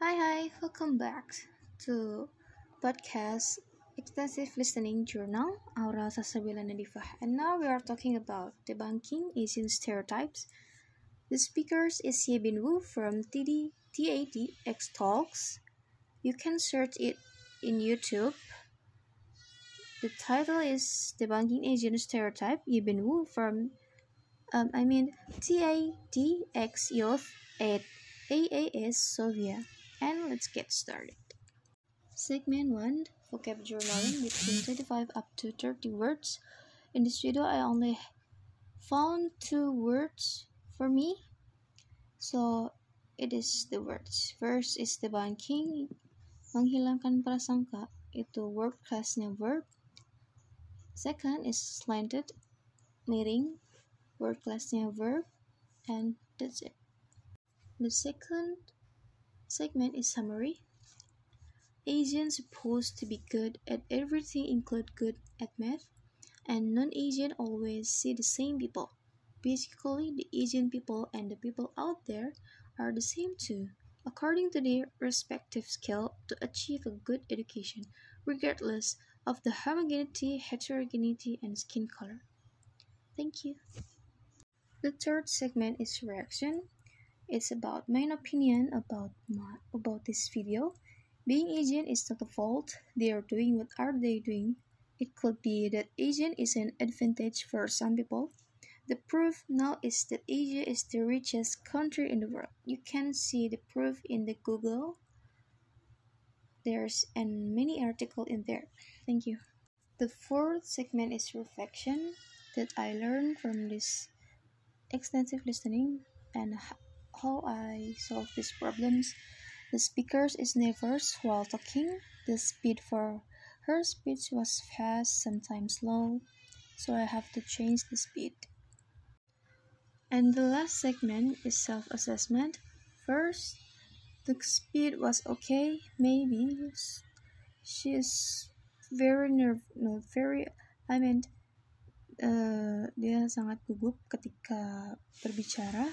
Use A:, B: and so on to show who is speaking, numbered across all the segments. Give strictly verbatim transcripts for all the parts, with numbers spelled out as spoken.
A: Hi, hi, welcome back to podcast Extensive Listening Journal, Aura Sasabila Nadifah. And now we are talking about debunking Asian stereotypes. The speakers is Ye Bin Woo from T D T A D X Talks. You can search it in YouTube. The title is Debunking Asian Stereotype, Ye Bin Woo from, um, I mean, T A D X Youth at A A S Sofia. And let's get started. Segment one, vocab journaling between twenty-five up to thirty words. In this video, I only found two words for me. So, it is the words. First is debunking, menghilangkan prasangka, itu word classnya verb. Second is slanted, miring, word classnya verb. And that's it. The second segment is summary. Asians supposed to be good at everything include good at math, and non-Asian always see the same people. Basically, the Asian people and the people out there are the same too, according to their respective skill to achieve a good education, regardless of the homogeneity, heterogeneity, and skin color. Thank you. The third segment is reaction. It's about my opinion about my, about this video. Being Asian is not a fault. They are doing what are they doing. It could be that Asian is an advantage for some people. The proof now is that Asia is the richest country in the world. You can see the proof in the Google. There's and many article in there. Thank you. The fourth segment is reflection that I learned from this extensive listening and how I solve these problems. The speaker is nervous while talking. The speed for her speech was fast, sometimes slow, so I have to change the speed. And the last segment is self-assessment. First, the speed was okay, maybe. She's very nerve, no, very, I mean, uh, dia sangat gugup ketika berbicara.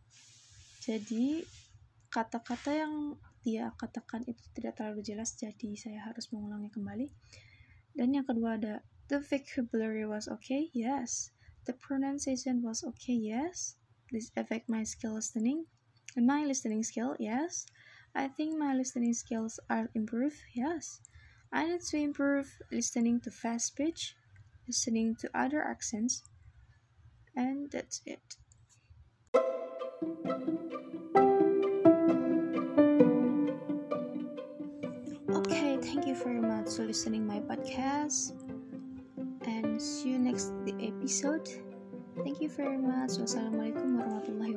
A: Jadi, kata-kata yang dia katakan itu tidak terlalu jelas, jadi saya harus mengulangi kembali. Dan yang kedua ada, the vocabulary was okay, yes. The pronunciation was okay, yes. This affect my skill listening. And my listening skill, yes. I think my listening skills are improved, yes. I need to improve listening to fast speech, listening to other accents, and that's it. Okay, thank you very much for listening my podcast, and see you next episode. Thank you very much. Wassalamualaikum warahmatullahi